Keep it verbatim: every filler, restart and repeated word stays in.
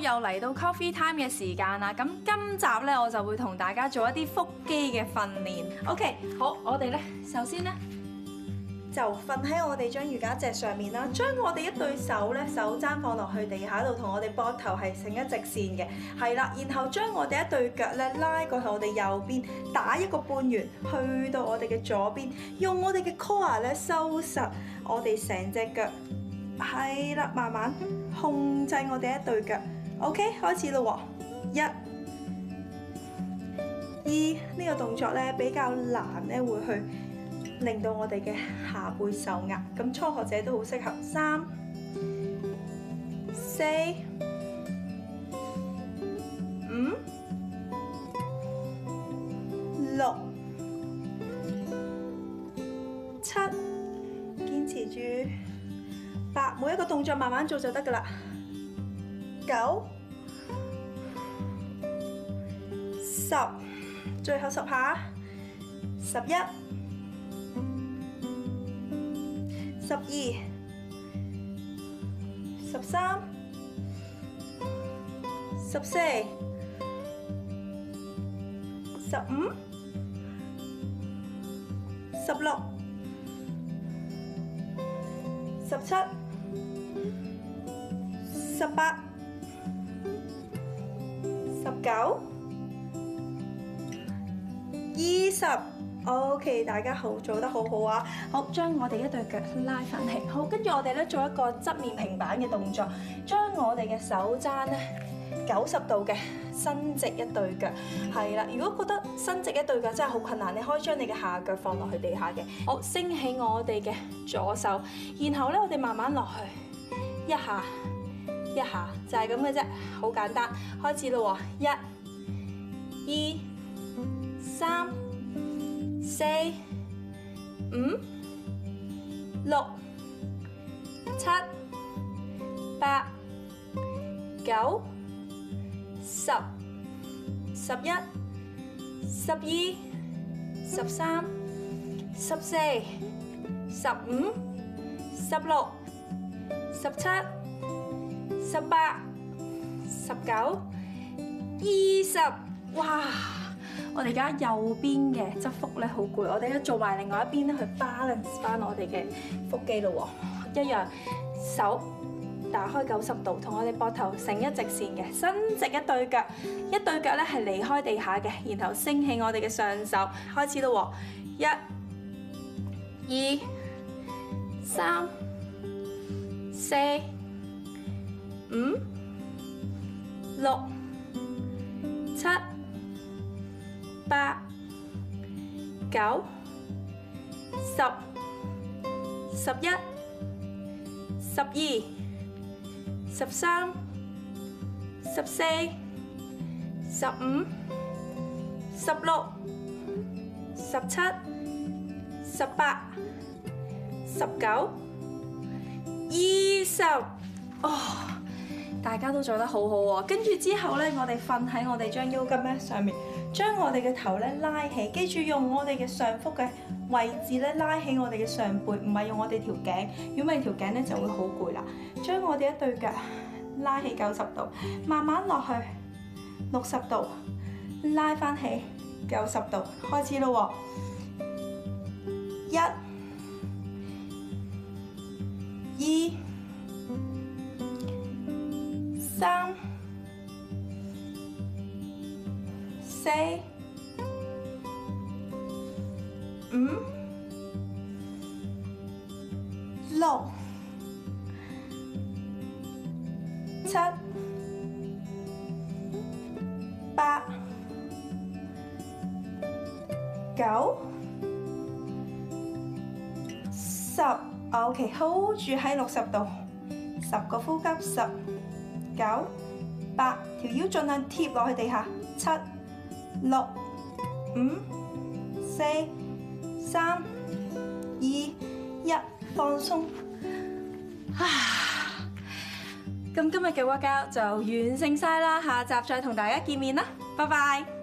又嚟到 coffee time 嘅時間啦，咁今集咧我就會同大家做一啲腹肌嘅訓練。OK， 好，我哋咧首先咧就瞓喺我哋張瑜伽席上面啦，將我哋一對手咧手踭放落去地下度，同我哋膊頭係成一直線嘅，係啦，然後將我哋一對腳咧拉過去我哋右邊，打一個半圓去到我哋嘅左邊，用我哋嘅 core 咧收實我哋成隻腳。係啦，慢慢控制我哋一對腳。OK， 開始咯喎，一、二，呢個動作咧比較難咧，會去令到我哋嘅下背受壓。咁初學者都好適合。三、四、五、六、七，堅持住。八，每一個動作慢慢做就得㗎喇。九、十，最後十下。十一、十二、十三、十四、十五、十六、十七、十八、十九、二十。OK， 大家好，做得好好啊！好，將我哋一對腳拉翻起。好，跟住我哋咧做一個側面平板嘅動作，將我哋嘅手踭咧九十度嘅伸直一對腳。係啦，如果覺得伸直一對腳真係好困難，你可以將你嘅下腳放落去地下嘅。好，升起我哋嘅左手，然後咧我哋慢慢落去，一下一下，就係咁嘅啫，好簡單。開始咯喎，一、二、三、四、五、六、七、八、九、十、十一、十二、十三、十四、十五、十六、十七、十八、十九、二十，哇！我哋而家右邊嘅側腹咧好攰，我哋而家做埋另外一邊咧去 balance 翻我哋嘅腹肌咯喎，一樣手打開九十度，同我哋膊頭成一直線嘅，伸直一對腳，一對腳咧係離開地下嘅，然後升起我哋嘅上手，開始咯喎，一、二、三、四、五、六、七、八、九、十、十一、十二、十三、十四、十五、十六、十七、十八、十九、二十，哦！大家都做得好好喎。跟住之後咧，我哋瞓喺我哋張腰巾咧上面。將我哋嘅頭咧拉起，記住用我哋嘅上腹嘅位置咧拉起我哋嘅上背，唔係用我哋條頸，如果唔係條頸咧就會好攰啦。將我哋一對腳拉起九十度，慢慢落去六十度，拉翻起九十度，開始咯喎，一、二、三、四、五、六、七、八、九、十。OK，hold 住喺六十度，十個呼吸，十、九、八，條腰盡量貼落去地下，七、六、五、四、三、二、一，放鬆。啊！咁今日嘅 workout就完成晒啦，下集再同大家見面啦，拜拜。